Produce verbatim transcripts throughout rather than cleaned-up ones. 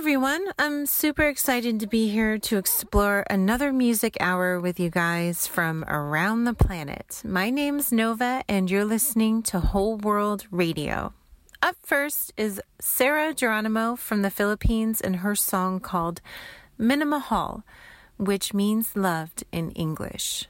everyone. I'm super excited to be here to explore another music hour with you guys from around the planet. My name's Nova, and you're listening to Whole World Radio. Up first is Sarah Geronimo from the Philippines and her song called Minamahal, which means loved in English.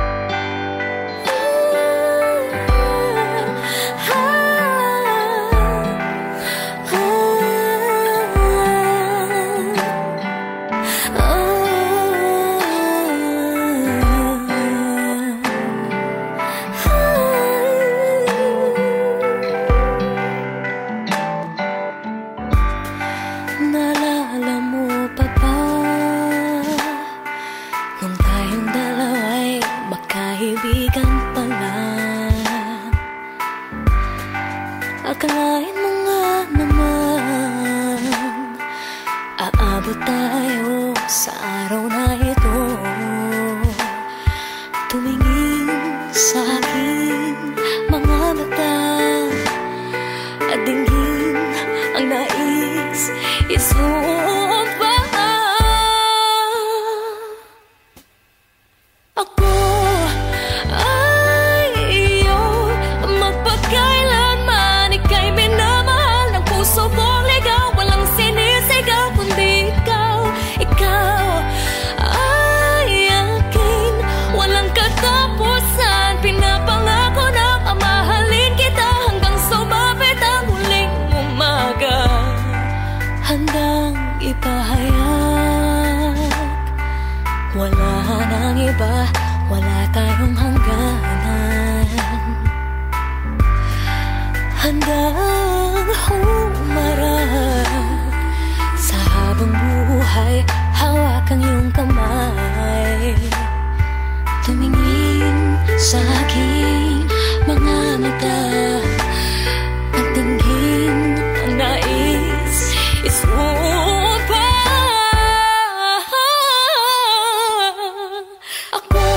Akalain mo nga naman, aabot tayo sa araw na ito. Tumingin sa aking mga mata at dinggin ang nais isuot pa. Ako ay iyo magpakailanman. Ika'y minamahal ng puso kong ligaw. Walang sinisigaw kundi ikaw. Ikaw ay akin, walang katapusan. Pinapangako na mamahalin kita hanggang sumapit ang huling umaga. Handang ipahayag, wala nang iba, wala tayong hangganan. Handang humarap sa habang buhay, hawak ang iyong kamay. Tumingin sa aking mga mata at tingin ang nais isuot pa. Ako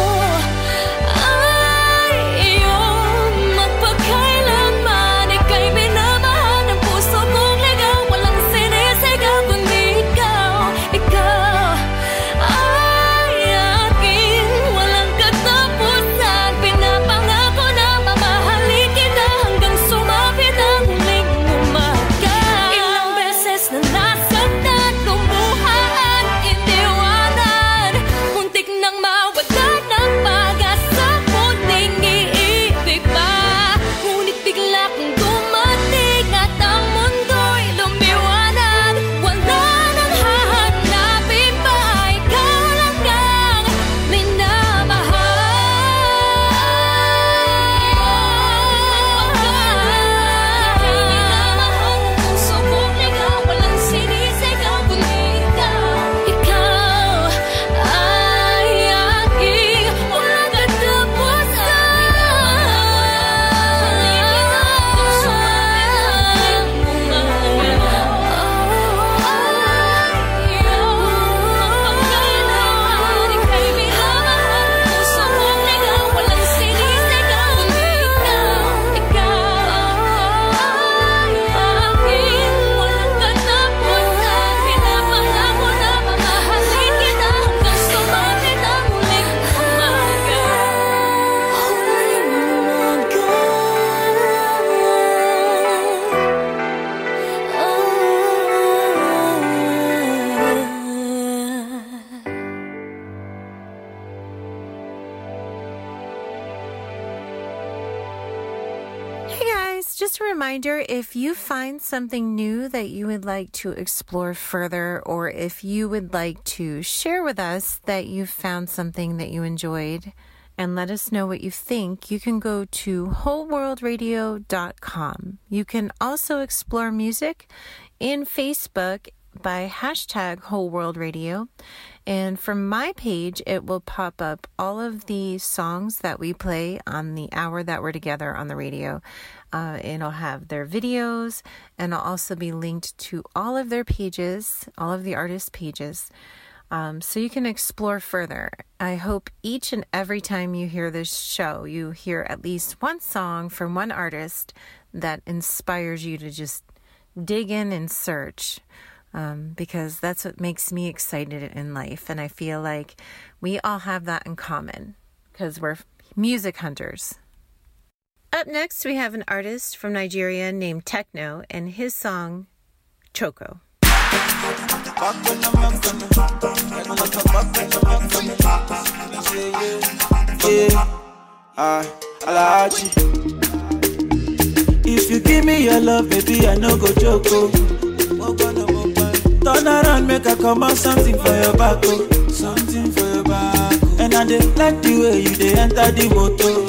ay iyong magpakailanman. Ika'y minamahal ng puso kong ligaw. Walang sinisigaw kundi ikaw. Ikaw ay akin, walang katapusan. Pinapangako na mamahalin kita hanggang sumapit ang huling umaga. Ilang beses na nasaktan, lumuha at iniwanan. Muntik nang mawalan ng pag-asa, muling iibig pa. Ngunit bigla kang dumating at ang mundo'y lumiwanag. Wala nang hahanapin pa, ikaw lang ang minamahal. Puso kong ligaw, walang sinisigaw kundi ikaw. Ikaw ay aking, walang katapusan. Hey guys, just a reminder, if you find something new that you would like to explore further, or if you would like to share with us that you found something that you enjoyed and let us know what you think, you can go to whole world radio dot com. You can also explore music in Facebook by hashtag Whole World Radio. And from my page, it will pop up all of the songs that we play on the hour that we're together on the radio. Uh, it'll have their videos, and I'll also be linked to all of their pages, all of the artists' pages, um, so you can explore further. I hope each and every time you hear this show, you hear at least one song from one artist that inspires you to just dig in and search. Um, because that's what makes me excited in life. And I feel like we all have that in common because we're music hunters. Up next, we have an artist from Nigeria named Techno and his song, Choco. If you give me your love, baby, I no go Choco. Turn around, make I come out something for your back, oh. Something for your back, oh. And I dey like the way you dey enter the motor.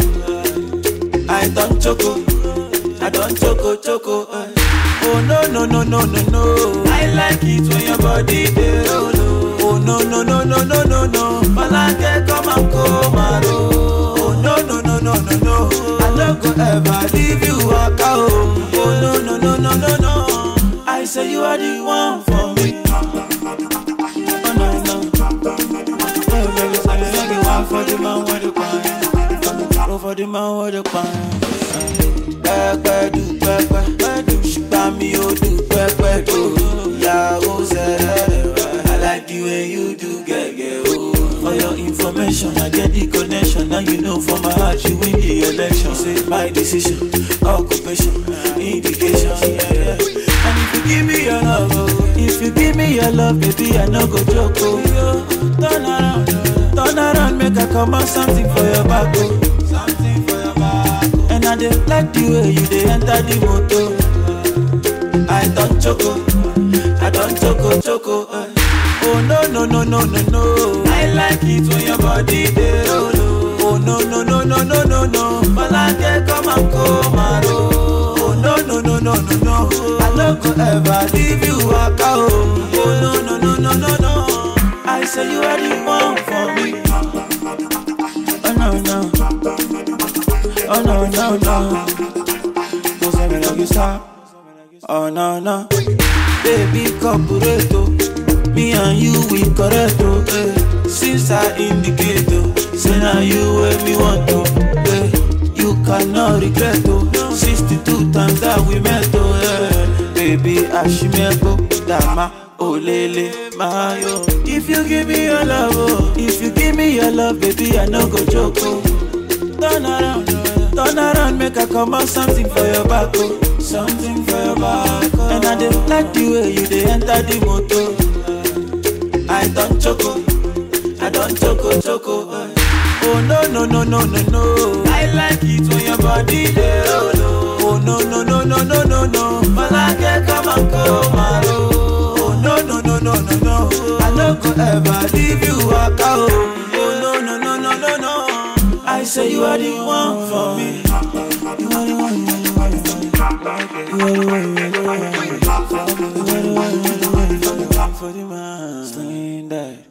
I don't choco, I don't choco, choco. Uh. Oh no, no, no, no, no, no. I like it when your body dey roll. Oh no, no, no, no, no, no, no. Malake come and come and roll. Oh no, no, no, no, no, no. I don't go ever leave you waka, oh. Oh no, no, no, no, no, no. I say you are the one for me. Oh no, no. Oh baby, say you are the one for the man with the pan. Oh for the man with the pan. Pepe do pepe do, shugba mi o do pepe do. Ya o zere, I like the way you do gege o. For your information, I get the connection. Now you know for my heart you win the election. Say my decision, occupation, indication, yeah, yeah. And if you give me your love, oh, if you give me your love, baby, I no go joke, oh. Turn around, turn around, make I come out something for your back, oh. Something for your back, oh. And I dey like the way you dey enter the motor. I don't choco, I don't choco, choco, uh. Oh no, no, no, no, no, no. I like it when your body dey roll. Oh no, no, no, no, no, no, no. Malake come and come and roll. Oh no, no, no, no, no, no. I don't go ever leave you waka, oh. Oh no, no, no, no, no, no. I say you are the one for me. Oh no, no. Oh no, no, no. Don't say me like you stop. Oh no, no. Baby, corporato. Me and you, we correct, oh, eh. Since I indicate, oh, say now you where me want to, eh. You cannot regret, oh. sixty-two times that we met, oh, eh. Baby, Ashimebo, Dama, Olele, Mayo. If you give me your love, oh, if you give me your love, baby, I no go joke, oh. Turn around, turn around, make I come out something for your back, oh. Something for your back, oh. And I dey like the way you dey enter the motor. I don't choco, I don't choco, choco. Uh. Oh no, no, no, no, no, no. I like it when your body dey roll. Oh no, no, no, no, no, no, no. Malake come and come and roll. Oh no, no, no, no, no, no. I don't go ever leave you waka, oh. Oh no, no, no, no, no, no. I say you are the one for me. You are the one, you are the one. You are the one, you are the one. You are the one, you are the one. For the man, slinging that.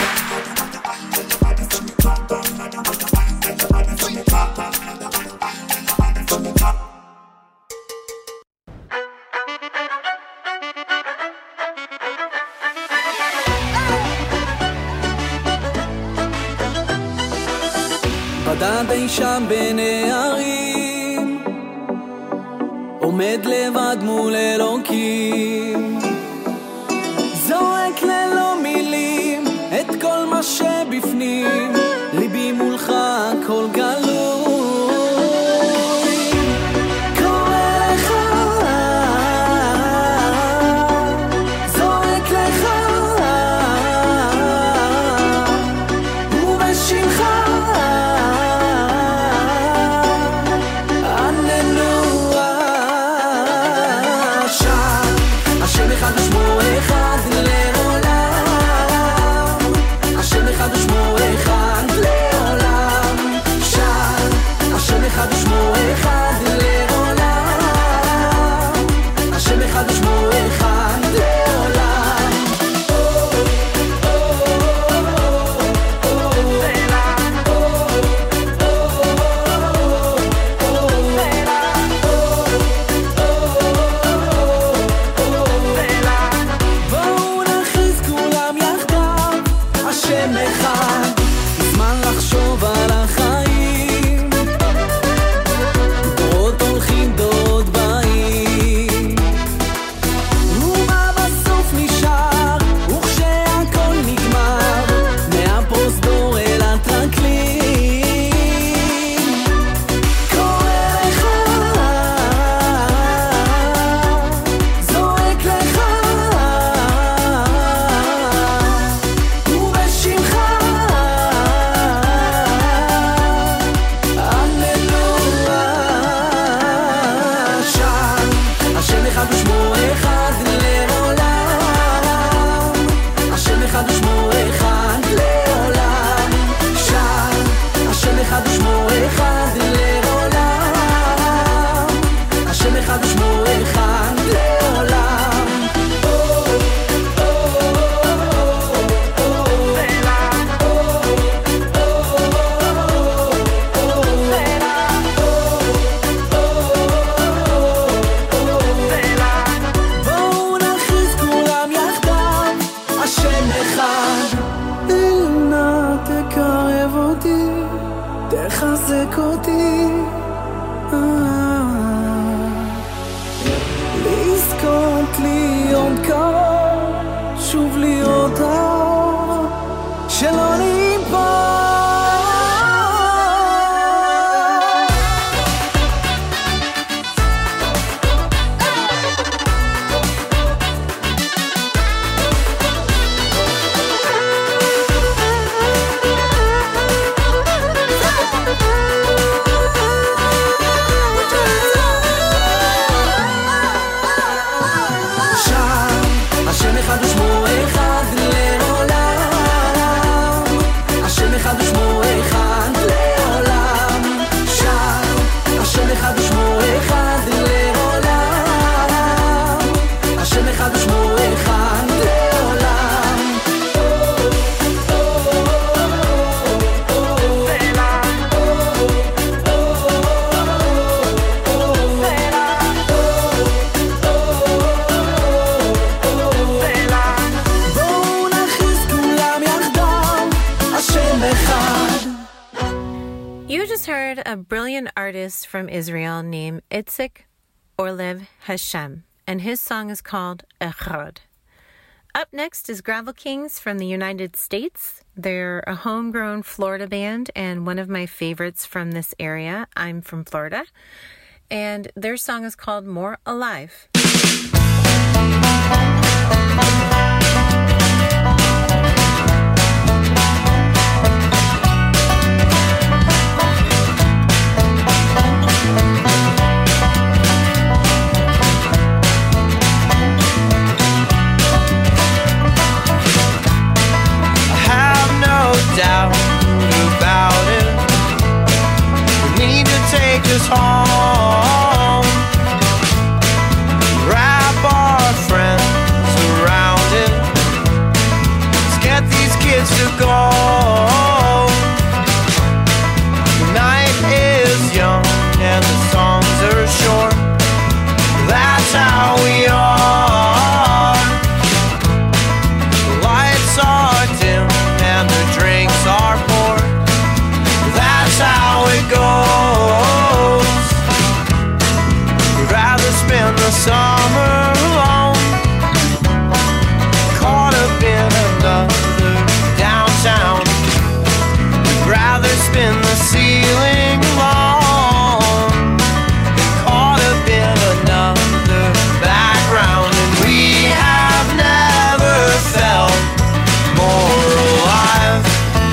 בדד אי שם בין הערים, עומד לבד מול אלוקים, זורק ללא מילים את כל מה שבפנים, ליבי מולך הכל גלוי, קורא לך, זורק לך, ובשמך עננו עכשיו, השם אחד ושמו אחד לעולם. ושמו אחד לעולם, השם אחד ושמו אחד לעולם, שר, השם אחד ושמו אחד לעולם, השם אחד ושמו אחד לעולם. בואו נכריז כולם יחדיו, השם אחד. You just heard a brilliant artist from Israel named Itzik Orlev Hashem, and his song is called Echad. Up next is Gravel Kings from the United States. They're a homegrown Florida band and one of my favorites from this area. I'm from Florida. And their song is called More Alive. Doubt about it. We need to take us home. Wrap our friends around it. Let's get these kids to go. The night is young and the songs are short. That's how we are. The lights are dim and the drinks are poured. That's how it goes. We'd rather spend the summer alone, caught up in another downtown. We'd rather spin the ceiling alone, caught up in another background. And we have never felt more alive.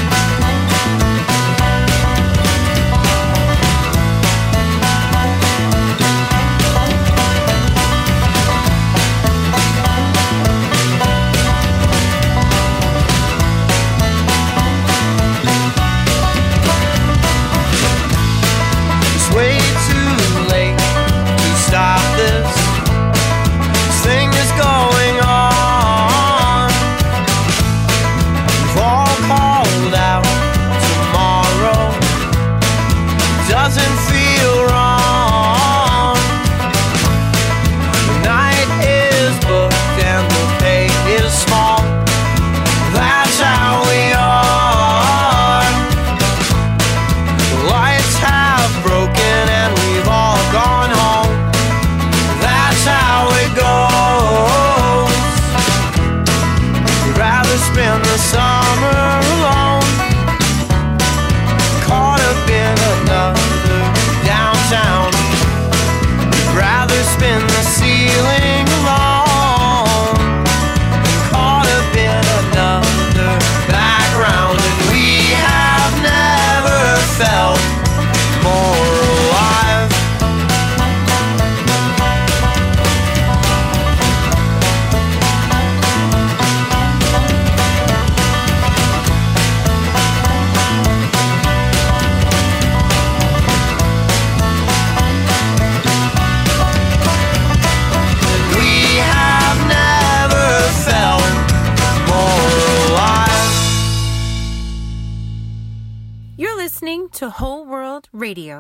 It's way too late to stop this. This thing is going on. We've all called out tomorrow. Doesn't feel wrong. The night is booked and the pay is small. That's how we are. The lights have broken and we've all gone home. That's how it goes. We'd rather spend the summer alone, caught up in another downtown. We'd rather spin the ceiling alone, caught up in another background. And we have never felt more alive. We have never felt more alive. You're listening to Whole World Radio.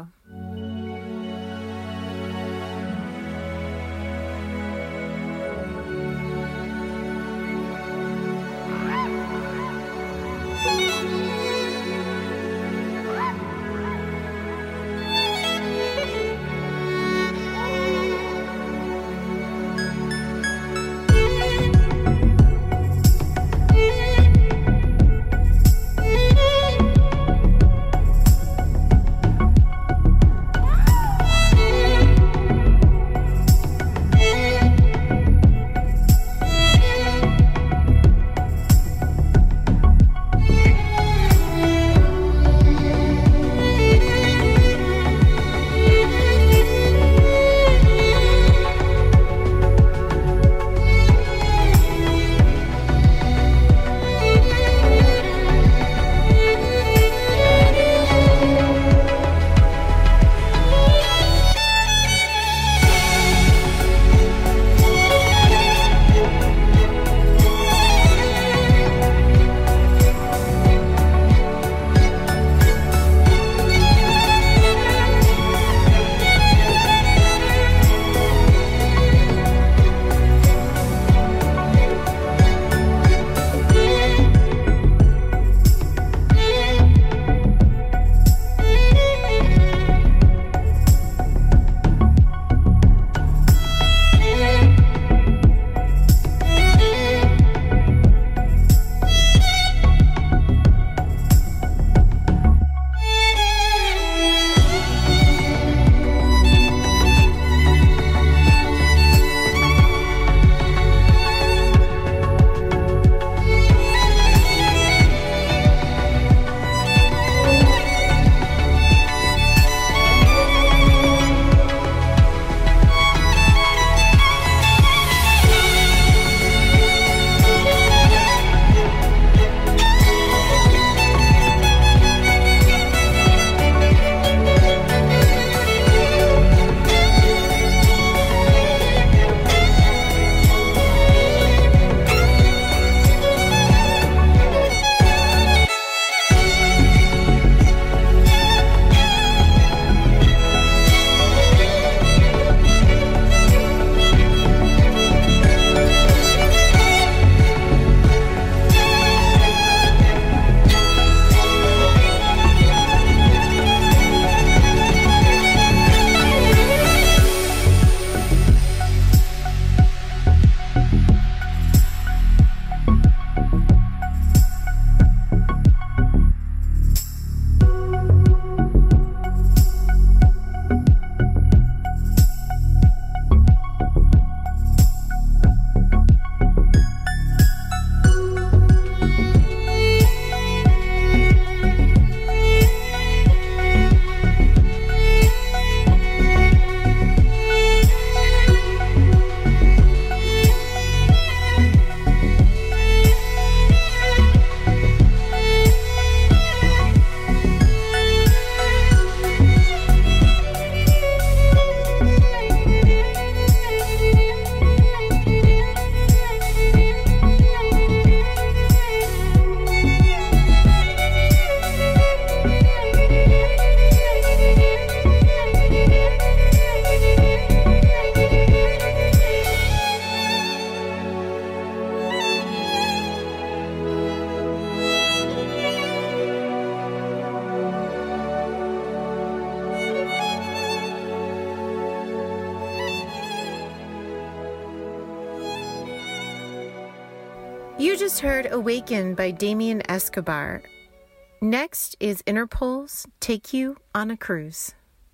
just heard Awaken by Damien Escobar. Next is Interpol's Take You on a Cruise.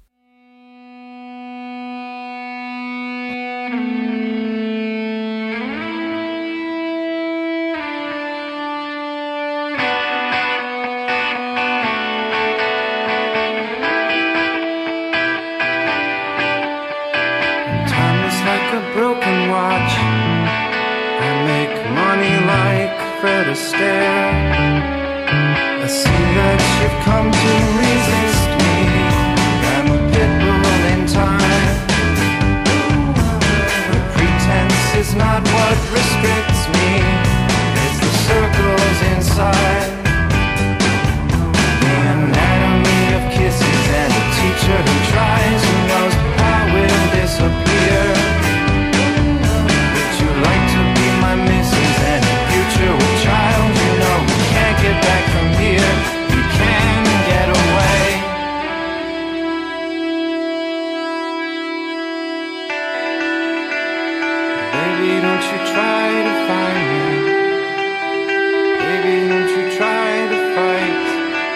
Time is like a broken watch. I make money like Fred Astaire. I see that you've come to resist me. I'm a pit bull in time. The pretense is not what restricts me. It's the circles inside. The anatomy of kisses and a teacher who tries, who knows how will disappear. Would you like to be my missus and a future with child? You know you can't get back from here. You can get away. Baby, don't you try to find me. Baby, don't you try to fight.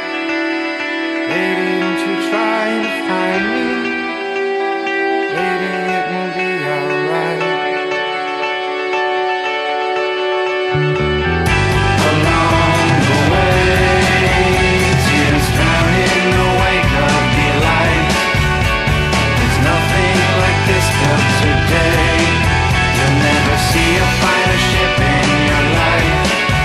Baby, don't you try to find me. Baby, it will be alright. Along the way, tears drown in the wake of delight. There's nothing like this till today. You'll never see a finer ship in your life.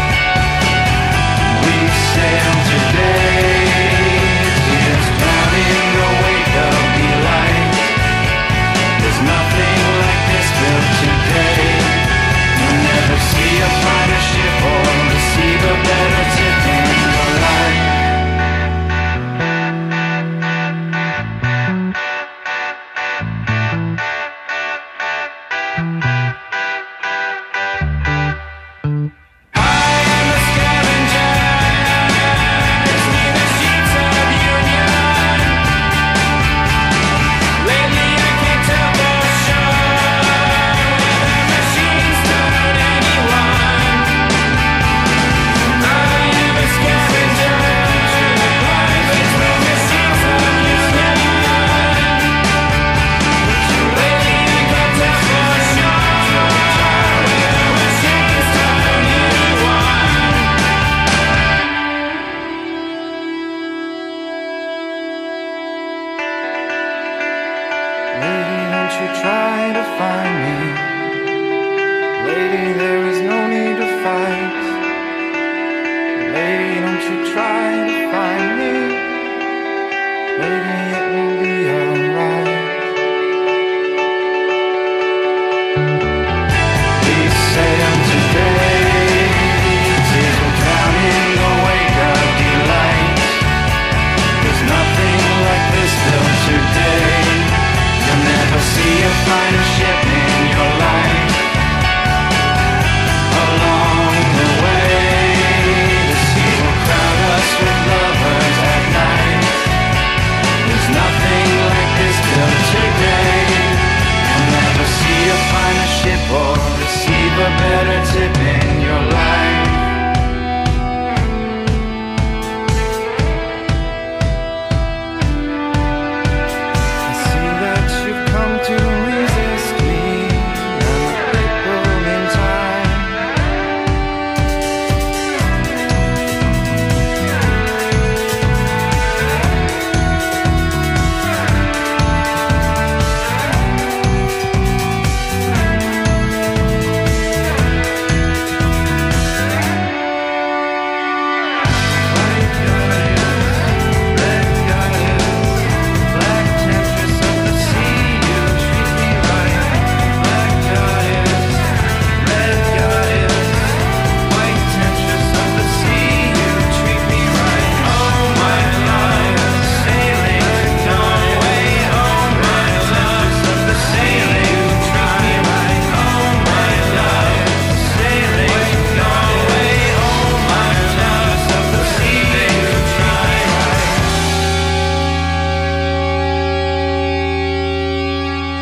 We sail today. Tears drown in the wake of delight. There's nothing like this till today. You'll never see a finer ship or receive a better tip in your life. I am a scavenger, between the sheets of union. Lately I can't tell for sure whether machines turn anyone. I am a scavenger, between the sheets of union. Lately I can't tell for sure whether machines turn anyone. Lady, don't you try to find me. Lady, there is no need to fight. Lady, don't you try to find me. Lady, it will be alright. We sail today. Tears will drown in the wake of delight. There's nothing like this till today. You'll never see a finer ship in your life. Along the way, the sea will crowd us with lovers at night. There's nothing like this till today. You'll never see a finer ship or receive a better tip in your life. I see that you've come to resist me. I'm a pit bull in time.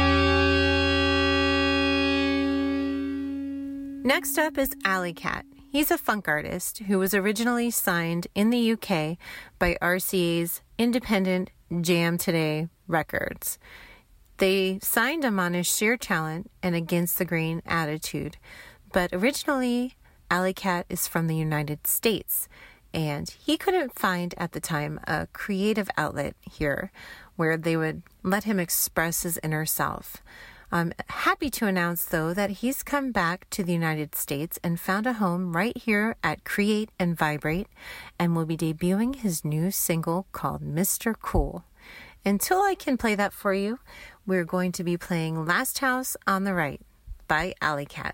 Next up is Alley Cat. he's a funk artist who was originally signed in the U K by R C A's independent Jam Today Records. They signed him on his sheer talent and against the grain attitude, but originally Alley Cat is from the United States, and he couldn't find at the time a creative outlet here where they would let him express his inner self. I'm happy to announce, though, that he's come back to the United States and found a home right here at Create and Vibrate, and will be debuting his new single called Mister Cool. Until I can play that for you, we're going to be playing Last House on the Right by Alley Cat.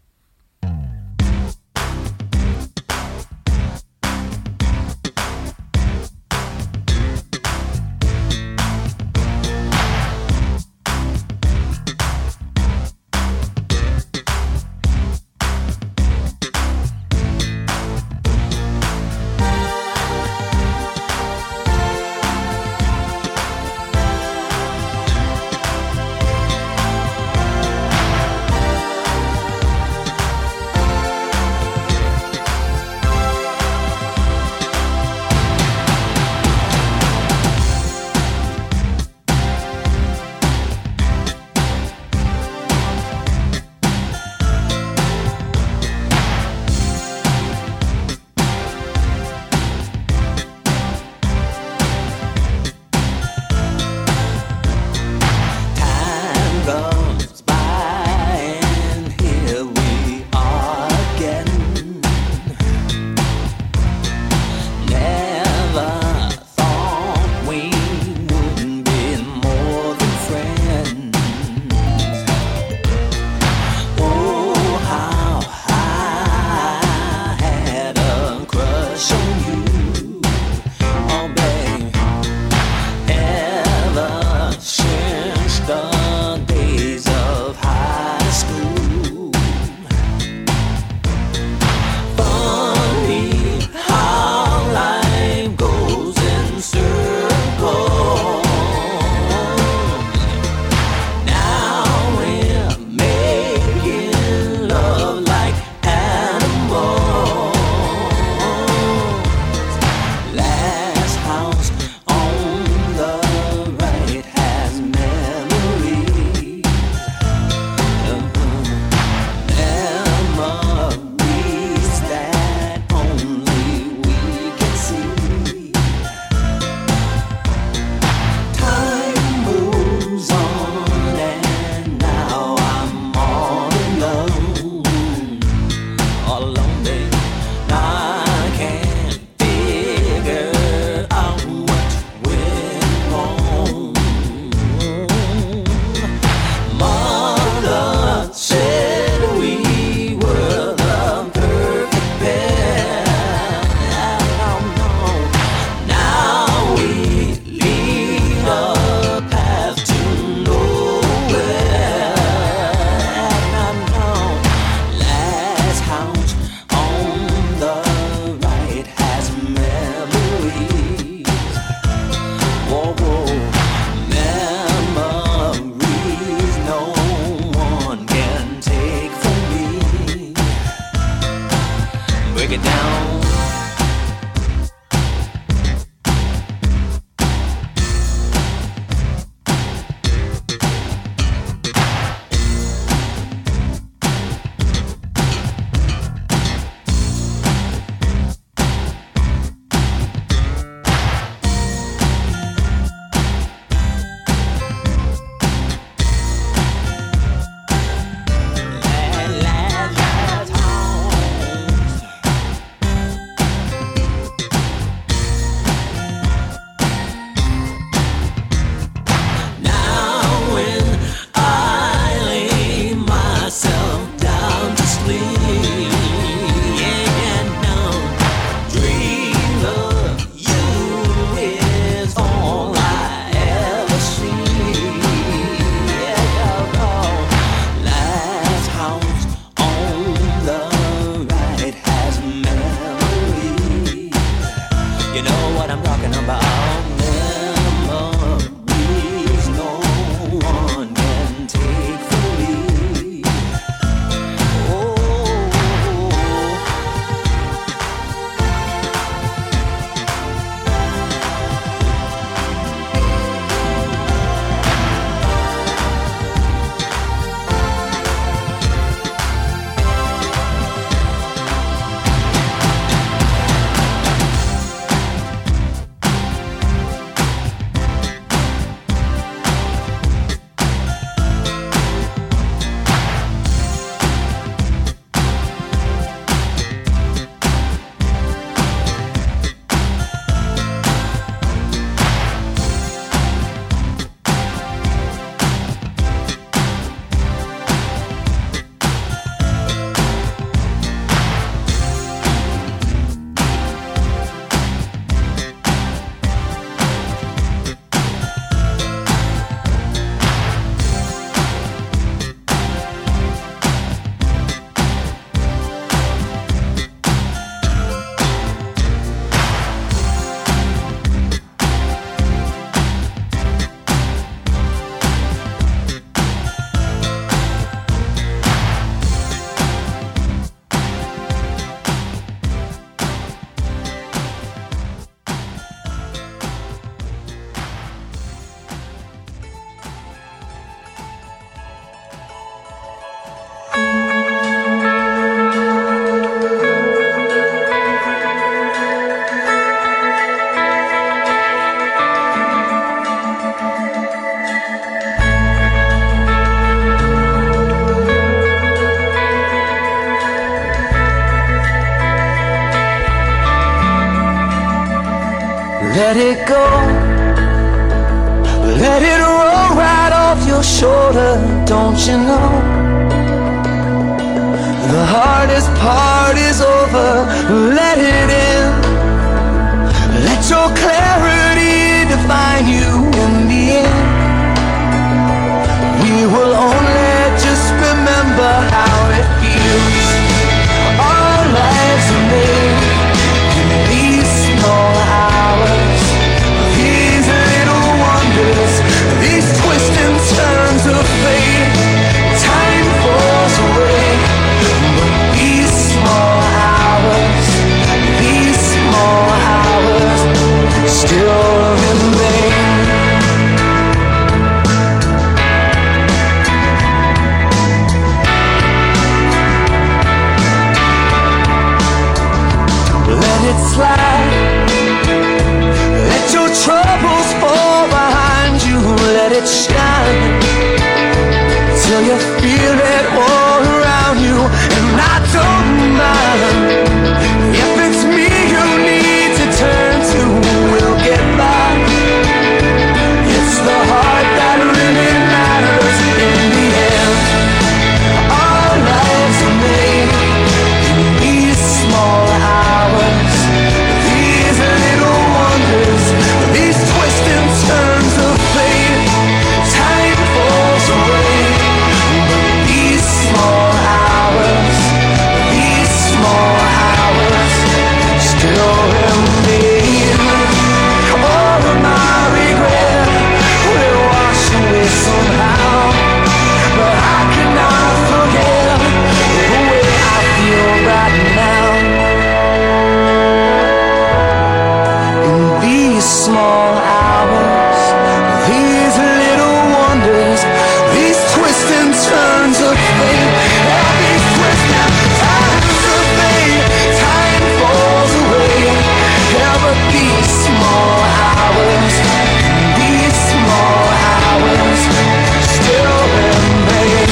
let it go. Let it roll right off your shoulder, don't you know? The hardest part is over, let it in. Let your clarity define you in the end. We will only just remember how it feels. Our lives are made in these small hours, these little wonders, these twists and turns of fate. Time falls away, but these small hours, these small hours still remain. Let it slide. Let your troubles fall behind you. Let it shine till you feel it all around you. And I don't mind if it's me you need to turn to. We'll get by. It's the heart that really matters in the end. Our lives are made in these small hours, these little wonders, these twists and turns of fate. Time falls away, but these small hours, these small hours still remain. All of my regret will wash away somehow, but I cannot forget the way I feel right now. In these small hours, these little wonders, these twists and turns of fate, all these twists and turns of fate. Time falls away, yeah, but these small hours, these small hours still remain.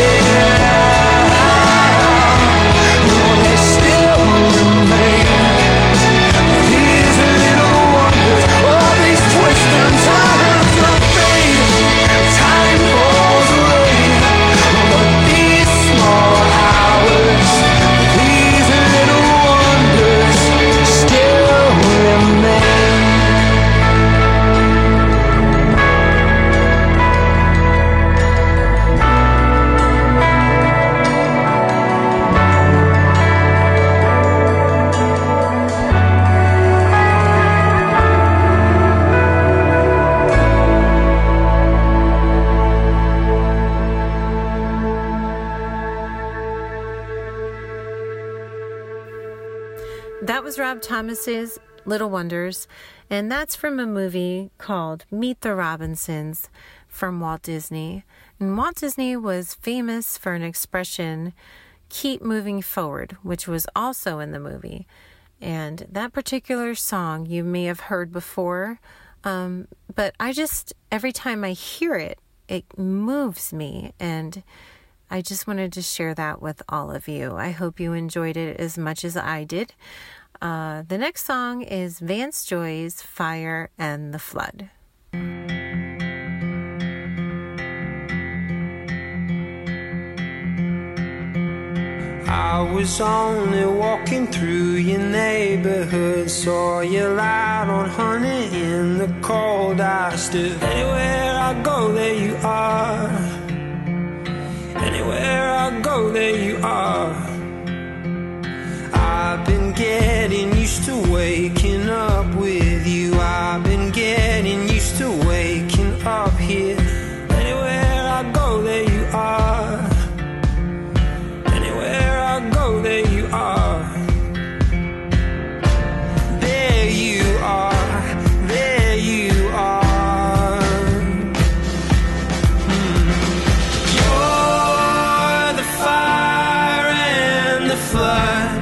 They still remain. These little wonders, all these twists and turns of fate. Time falls away, but these small hours, these little wonders still remain. That was Rob Thomas's Little Wonders, and that's from a movie called Meet the Robinsons from Walt Disney. And Walt Disney was famous for an expression, keep moving forward, which was also in the movie. And that particular song you may have heard before, um, but I just, every time I hear it, it moves me, and I just wanted to share that with all of you. I hope you enjoyed it as much as I did. Uh, the next song is Vance Joy's Fire and the Flood. I was only walking through your neighborhood, saw you light on honey in the cold. I stood. Anywhere I go, there you are. Anywhere I go, there you are. I've been getting used to waking up with you. I've been getting used to waking up here. Anywhere I go, there you are. Anywhere I go, there you are. There you are. There you are. Hmm. You're the fire and the flood,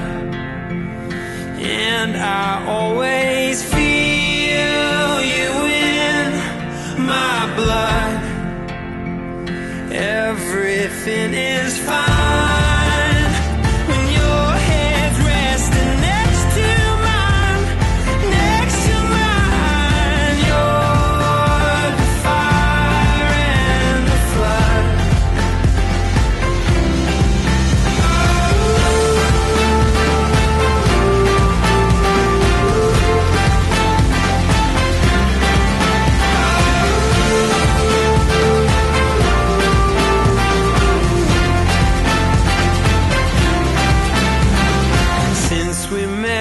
and I always feel you in my blood. Everything is fine when your head's resting next to mine, next to mine.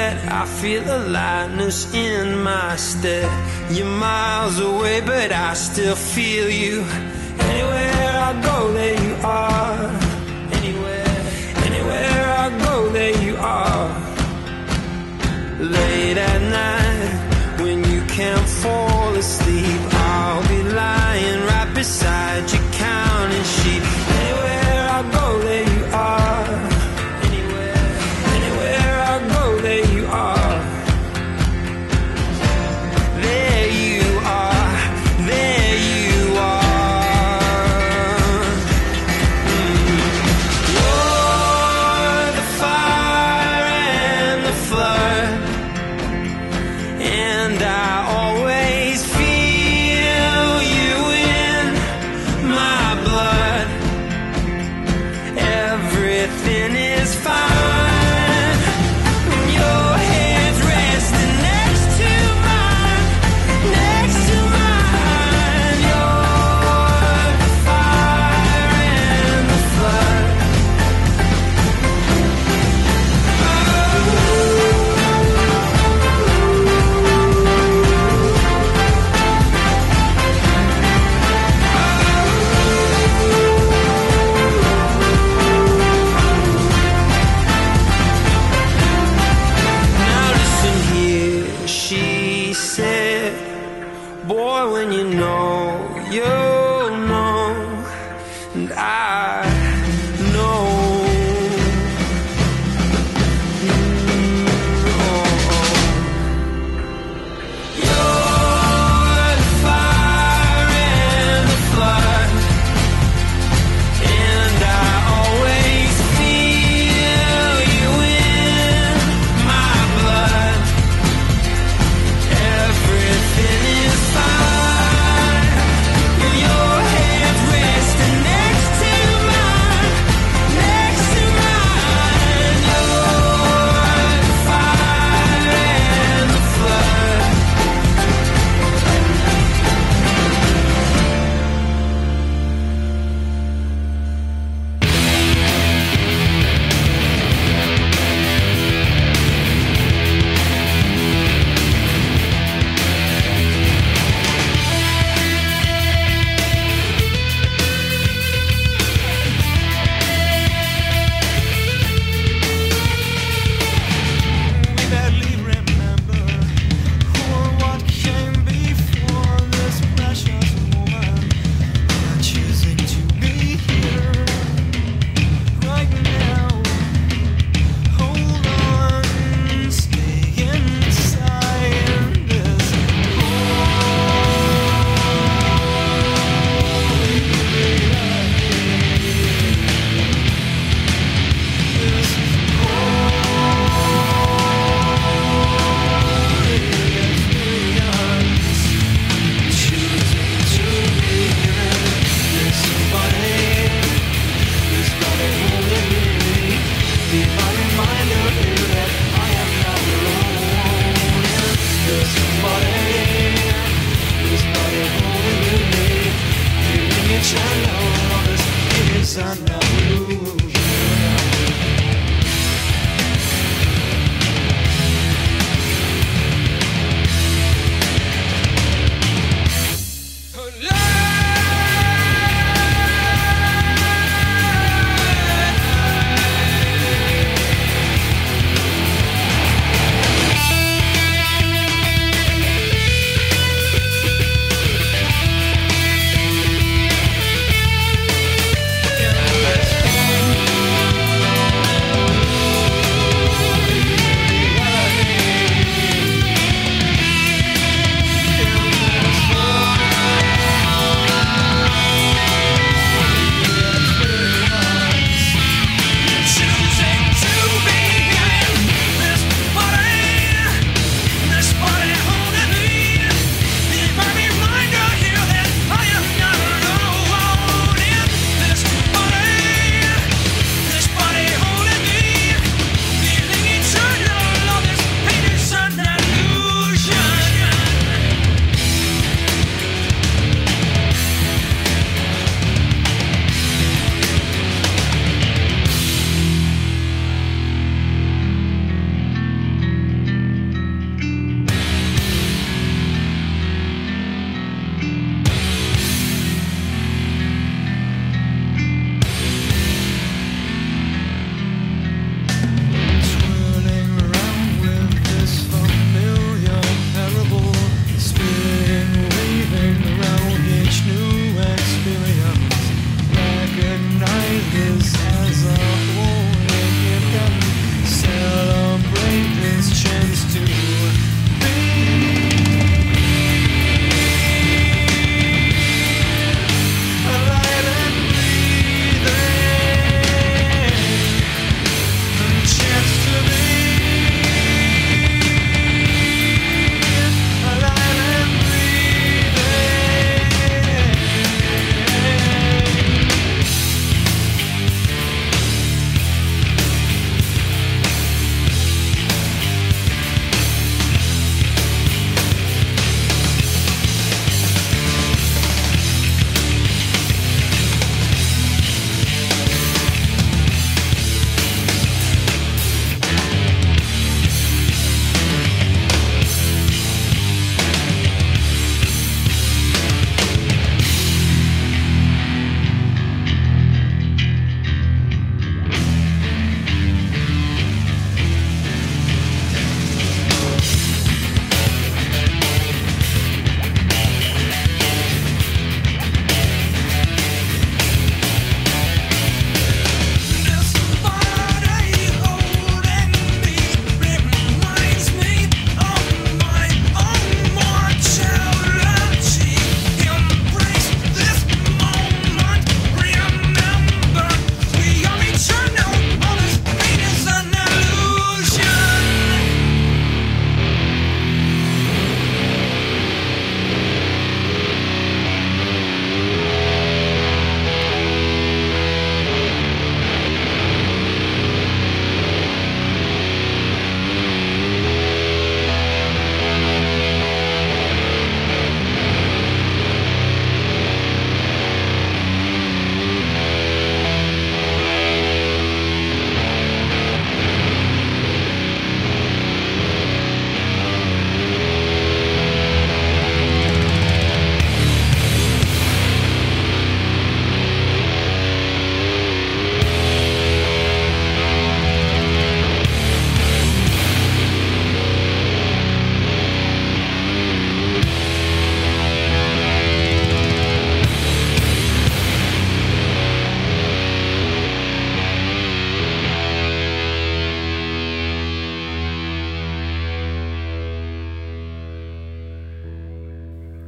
that I feel a lightness in my step. You're miles away, but I still feel you. Anywhere I go, there you are. Anywhere, anywhere I go, there you are. Late at night, when you can't fall asleep, I'll be lying right beside you, counting sheep. Anywhere I go, there you are. Anywhere, anywhere I go, there you are. There you are, there you are. Mm. You're the fire and the flood, and I always feel you in my blood. Everything is fine when your head's resting next to mine, next to mine. You're the fire and the flood. Now listen here, she said, boy, when you know, you'll know, and I know. Mm, oh, oh. You're the fire and the flood, and I always feel you in my blood. Everything is fine. You're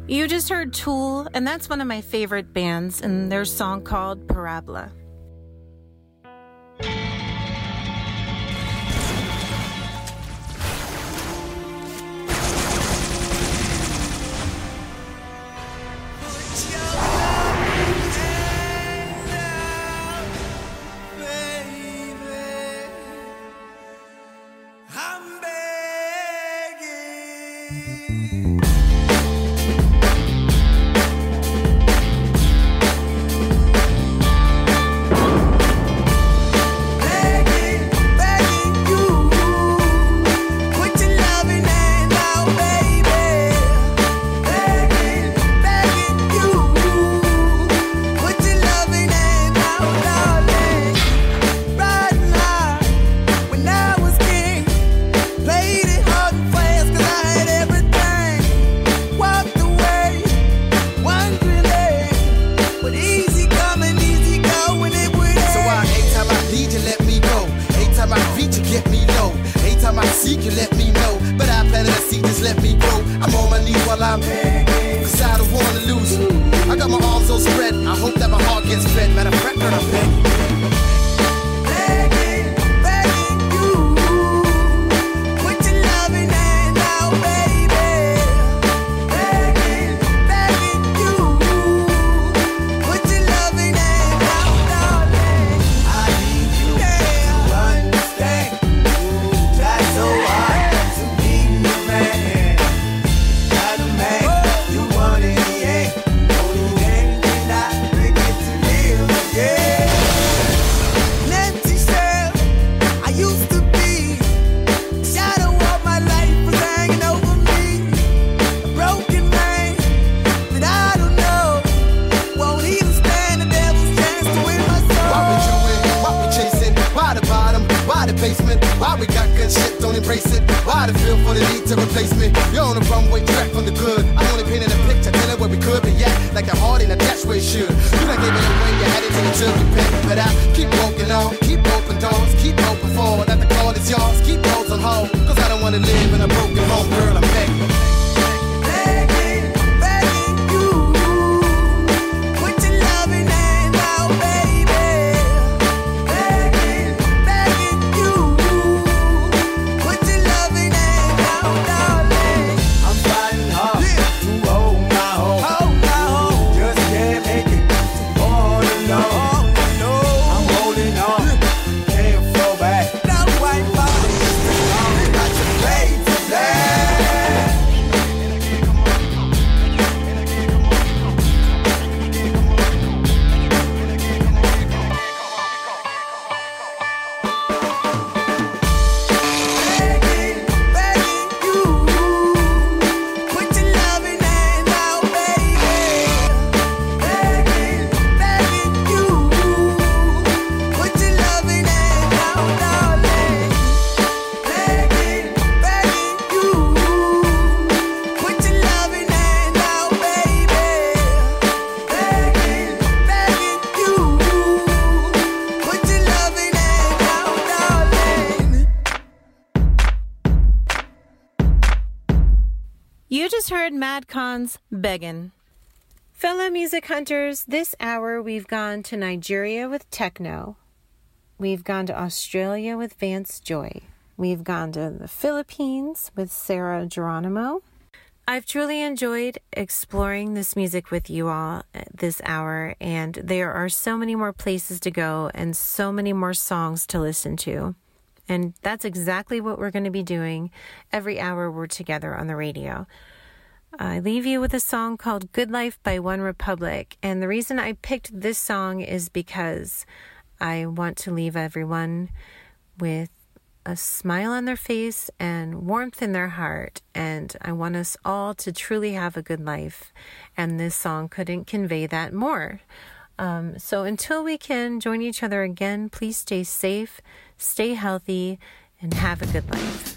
You just heard Tool, and that's one of my favorite bands, and their song called Parabola. Heard Madcon's Beggin'. Fellow music hunters, this hour we've gone to Nigeria with techno. We've gone to Australia with Vance Joy. We've gone to the Philippines with Sarah Geronimo. I've truly enjoyed exploring this music with you all this hour, and there are so many more places to go and so many more songs to listen to. And that's exactly what we're going to be doing every hour we're together on the radio. I leave you with a song called Good Life by One Republic. And the reason I picked this song is because I want to leave everyone with a smile on their face and warmth in their heart. And I want us all to truly have a good life. And this song couldn't convey that more. Um, so until we can join each other again, please stay safe, stay healthy, and have a good life.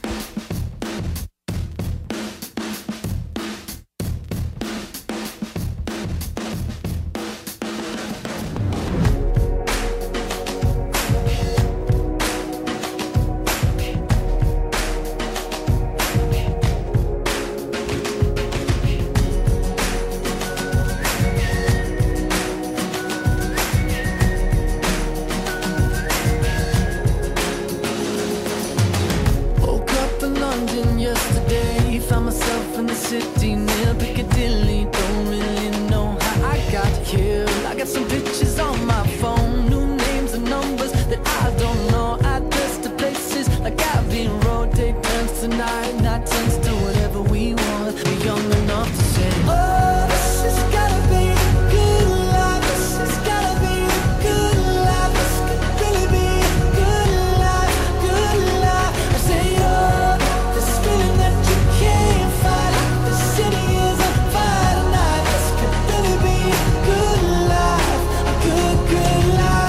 yesterday. Found myself in the city near Piccadilly. Don't really know how I got here. I got some pictures on my phone, new names and numbers that I don't know. Address to places like Abbey Road. Day turns to night, night turns to whatever we want. We're young enough to say, oh, this has gotta be the good life. This has gotta be the good life. This could really be a good life, good life. I say, oh, this feeling that you can't fight. The city is on fire tonight. This could really be a good life, a good, good life.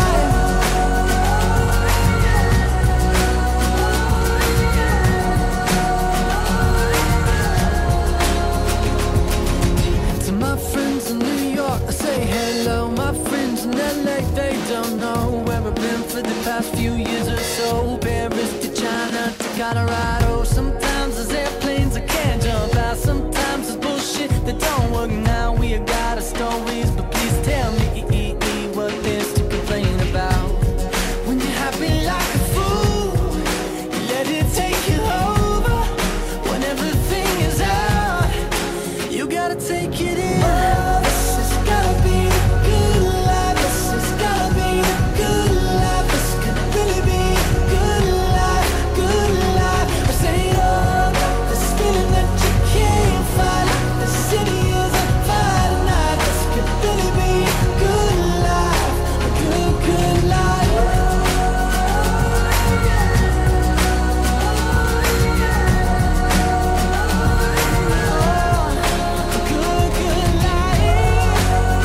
To my friends in New York, I say hello. My friends in L A, they don't know where I've been for the past few years or so. Paris to China to Colorado. Sometimes there's airplanes I can't jump out. Sometimes there's bullshit that don't work now. We got our stories, but please tell me what there's to complain about. When you're happy like a fool, you let it take you over. When everything is out, you gotta take it in. Oh, this has gotta be the good life. This has gotta be the good life. This could really be a good life, good life. I say, oh, this feeling that you can't fight. The city is on fire tonight. This could really be a good life, a good, good life. A good, good life.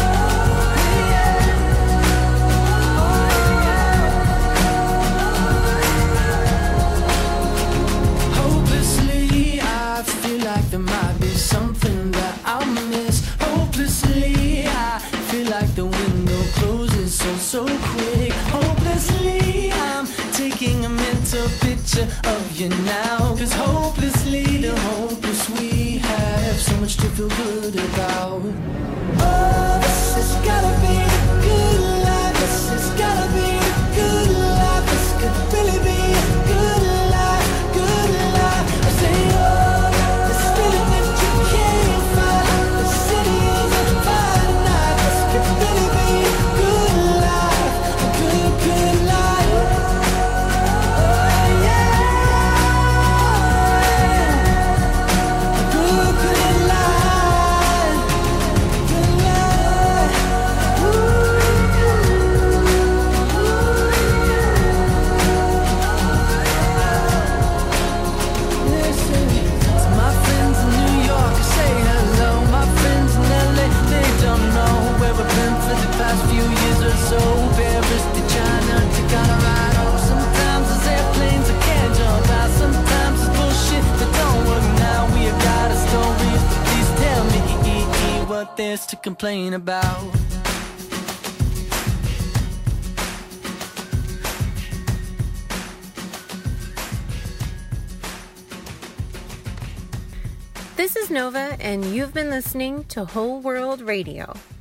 Hopelessly, I feel like there might be something that I'll miss. Hopelessly, I feel like the window closes so, so quick. Hopelessly, I'm taking a mental picture of you now. Cause hopelessly, the hopeless we have so much to feel good about. Oh, this has gotta be the good life. This has gotta be the good life. This could really be a good life, good life. I say, oh, this feeling that you can't fight. The city is on fire tonight. This could really be a good life, a good, good life. Oh, yeah. A good, good life. Good life. Listen, to my friends in New York, I say hello. My friends in L A, they don't know where we've been for the past few years or so. Paris to China to Colorado. Sometimes there's airplanes I can't jump out. Sometimes it's bullshit that don't work now. We have got our stories, but please tell me what there's to complain about. This is Nova, and you've been listening to Whole World Radio.